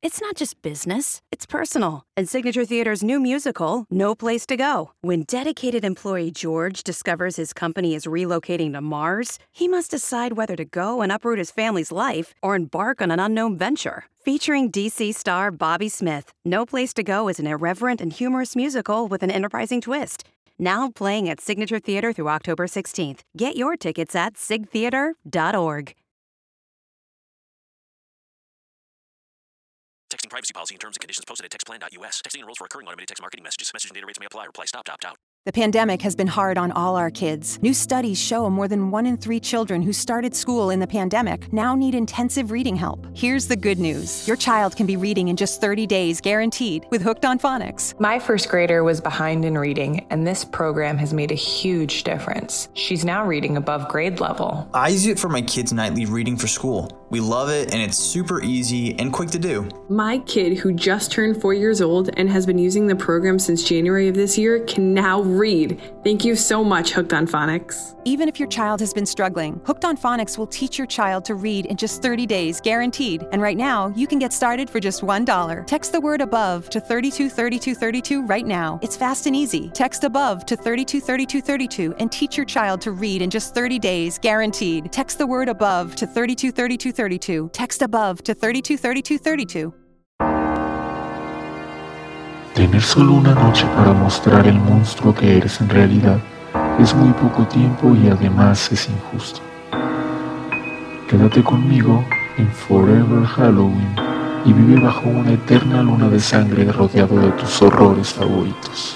It's not just business, it's personal. And Signature Theater's new musical, No Place to Go. When dedicated employee George discovers his company is relocating to Mars, he must decide whether to go and uproot his family's life or embark on an unknown venture. Featuring DC star Bobby Smith, No Place to Go is an irreverent and humorous musical with an enterprising twist. Now playing at Signature Theater through October 16th. Get your tickets at sigtheater.org. Texting privacy policy and terms and conditions posted at textplan.us. Texting enrolls for recurring automated text marketing messages. Message and data rates may apply. Reply stop to opt out. The pandemic has been hard on all our kids. New studies show more than 1 in 3 children who started school in the pandemic now need intensive reading help. Here's the good news. Your child can be reading in just 30 days, guaranteed, with Hooked on Phonics. My first grader was behind in reading, and this program has made a huge difference. She's now reading above grade level. I use it for my kids' nightly reading for school. We love it, and it's super easy and quick to do. My kid, who just turned 4 years old and has been using the program since January of this year, can now read. Thank you so much, Hooked on Phonics. Even if your child has been struggling, Hooked on Phonics will teach your child to read in just 30 days, guaranteed. And right now, you can get started for just $1. Text the word ABOVE to 323232 right now. It's fast and easy. Text ABOVE to 323232 and teach your child to read in just 30 days, guaranteed. Text the word ABOVE to 323232. Text ABOVE to 323232. Tener solo una noche para mostrar el monstruo que eres en realidad es muy poco tiempo y además es injusto. Quédate conmigo en Forever Halloween y vive bajo una eterna luna de sangre rodeado de tus horrores favoritos.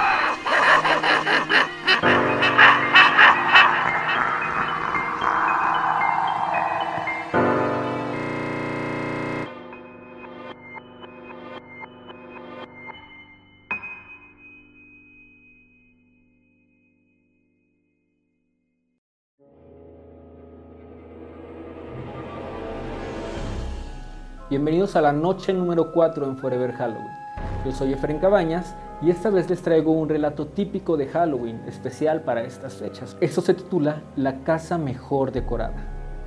Bienvenidos a la noche número 4 en Forever Halloween. Yo soy Efren Cabañas y esta vez les traigo un relato típico de Halloween, especial para estas fechas. Esto se titula La casa mejor decorada.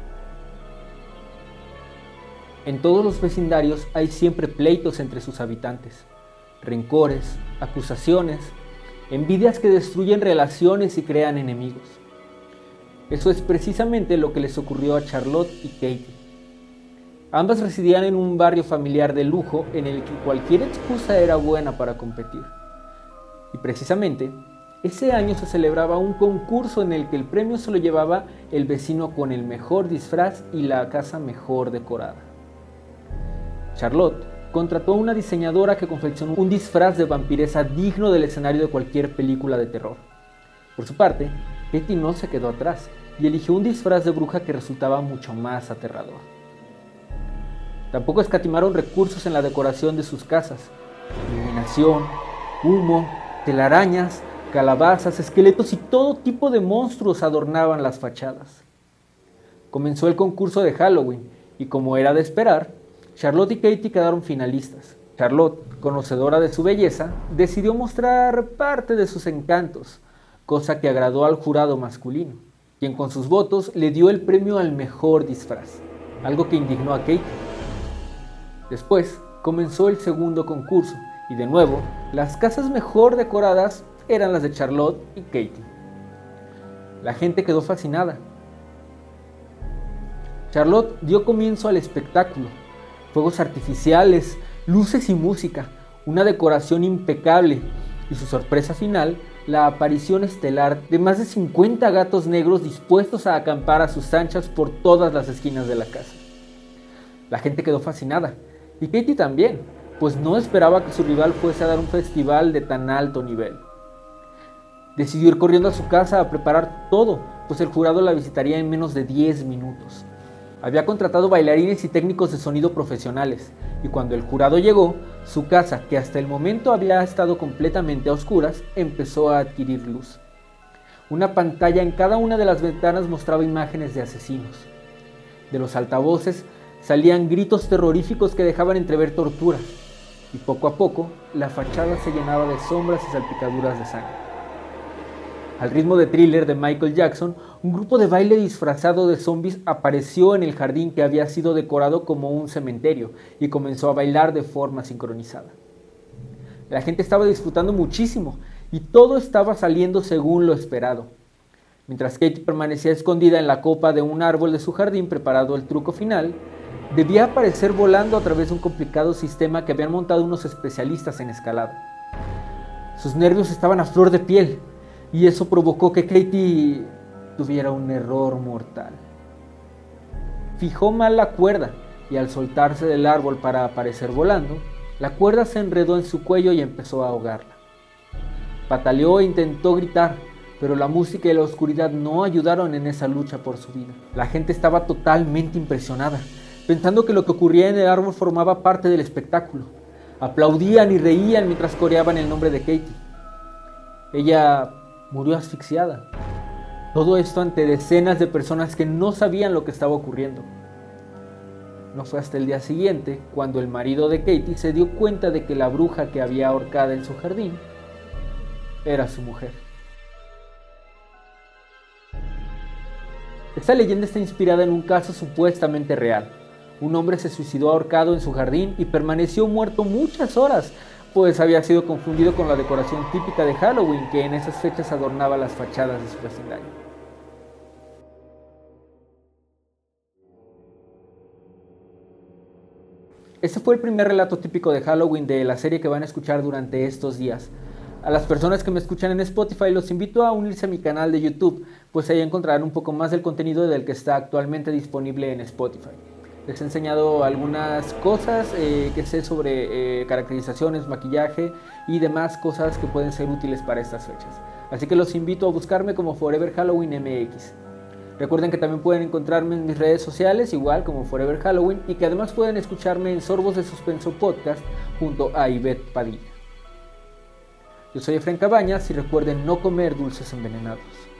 En todos los vecindarios hay siempre pleitos entre sus habitantes, rencores, acusaciones, envidias que destruyen relaciones y crean enemigos. Eso es precisamente lo que les ocurrió a Charlotte y Katie. Ambas residían en un barrio familiar de lujo en el que cualquier excusa era buena para competir. Y precisamente, ese año se celebraba un concurso en el que el premio se lo llevaba el vecino con el mejor disfraz y la casa mejor decorada. Charlotte contrató a una diseñadora que confeccionó un disfraz de vampiresa digno del escenario de cualquier película de terror. Por su parte, Katie no se quedó atrás y eligió un disfraz de bruja que resultaba mucho más aterrador. Tampoco escatimaron recursos en la decoración de sus casas. Iluminación, humo, telarañas, calabazas, esqueletos y todo tipo de monstruos adornaban las fachadas. Comenzó el concurso de Halloween y, como era de esperar, Charlotte y Katie quedaron finalistas. Charlotte, conocedora de su belleza, decidió mostrar parte de sus encantos, cosa que agradó al jurado masculino, quien con sus votos le dio el premio al mejor disfraz, algo que indignó a Katie. Después comenzó el segundo concurso y de nuevo las casas mejor decoradas eran las de Charlotte y Katie. La gente quedó fascinada. Charlotte dio comienzo al espectáculo, fuegos artificiales, luces y música, una decoración impecable y su sorpresa final, la aparición estelar de más de 50 gatos negros dispuestos a acampar a sus anchas por todas las esquinas de la casa. La gente quedó fascinada. Y Katie también, pues no esperaba que su rival fuese a dar un festival de tan alto nivel. Decidió ir corriendo a su casa a preparar todo, pues el jurado la visitaría en menos de 10 minutos. Había contratado bailarines y técnicos de sonido profesionales, y cuando el jurado llegó, su casa, que hasta el momento había estado completamente a oscuras, empezó a adquirir luz. Una pantalla en cada una de las ventanas mostraba imágenes de asesinos. De los altavoces salían gritos terroríficos que dejaban entrever torturas, y poco a poco la fachada se llenaba de sombras y salpicaduras de sangre. Al ritmo de Thriller de Michael Jackson, un grupo de baile disfrazado de zombies apareció en el jardín que había sido decorado como un cementerio y comenzó a bailar de forma sincronizada. La gente estaba disfrutando muchísimo y todo estaba saliendo según lo esperado. Mientras Katie permanecía escondida en la copa de un árbol de su jardín preparando el truco final, debía aparecer volando a través de un complicado sistema que habían montado unos especialistas en escalada. Sus nervios estaban a flor de piel y eso provocó que Katie tuviera un error mortal. Fijó mal la cuerda y al soltarse del árbol para aparecer volando, la cuerda se enredó en su cuello y empezó a ahogarla. Pataleó e intentó gritar, pero la música y la oscuridad no ayudaron en esa lucha por su vida. La gente estaba totalmente impresionada, pensando que lo que ocurría en el árbol formaba parte del espectáculo. Aplaudían y reían mientras coreaban el nombre de Katie. Ella murió asfixiada. Todo esto ante decenas de personas que no sabían lo que estaba ocurriendo. No fue hasta el día siguiente cuando el marido de Katie se dio cuenta de que la bruja que había ahorcada en su jardín era su mujer. Esta leyenda está inspirada en un caso supuestamente real. Un hombre se suicidó ahorcado en su jardín y permaneció muerto muchas horas, pues había sido confundido con la decoración típica de Halloween que en esas fechas adornaba las fachadas de su vecindario. Este fue el primer relato típico de Halloween de la serie que van a escuchar durante estos días. A las personas que me escuchan en Spotify los invito a unirse a mi canal de YouTube, pues ahí encontrarán un poco más del contenido del que está actualmente disponible en Spotify. Les he enseñado algunas cosas que sé sobre caracterizaciones, maquillaje y demás cosas que pueden ser útiles para estas fechas. Así que los invito a buscarme como Forever Halloween MX. Recuerden que también pueden encontrarme en mis redes sociales, igual como Forever Halloween, y que además pueden escucharme en Sorbos de Suspenso Podcast junto a Ivette Padilla. Yo soy Efraín Cabañas y recuerden no comer dulces envenenados.